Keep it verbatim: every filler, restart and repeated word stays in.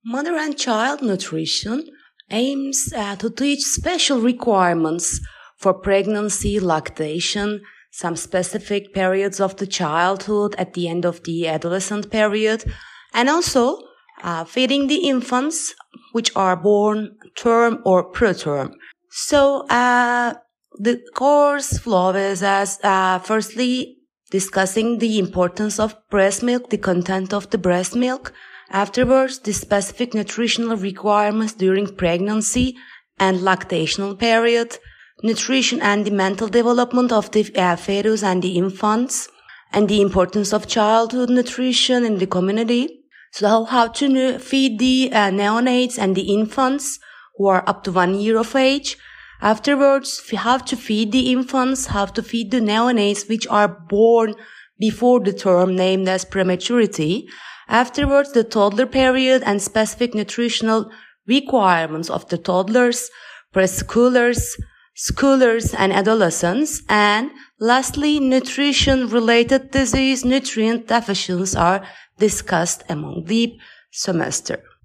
Mother and child nutrition aims uh, to teach special requirements for pregnancy, lactation, some specific periods of the childhood at the end of the adolescent period, and also uh, feeding the infants which are born term or preterm. So uh, the course flow is as uh, firstly discussing the importance of breast milk, the content of the breast milk. Afterwards, the specific nutritional requirements during pregnancy and lactational period, nutrition and the mental development of the uh, fetus and the infants, and the importance of childhood nutrition in the community. So how to feed the uh, neonates and the infants who are up to one year of age. Afterwards, how to feed the infants, how to feed the neonates which are born before the term named as prematurity. Afterwards, the toddler period and specific nutritional requirements of the toddlers, preschoolers, schoolers, and adolescents. And lastly, nutrition-related disease, nutrient deficiencies are discussed among the semester.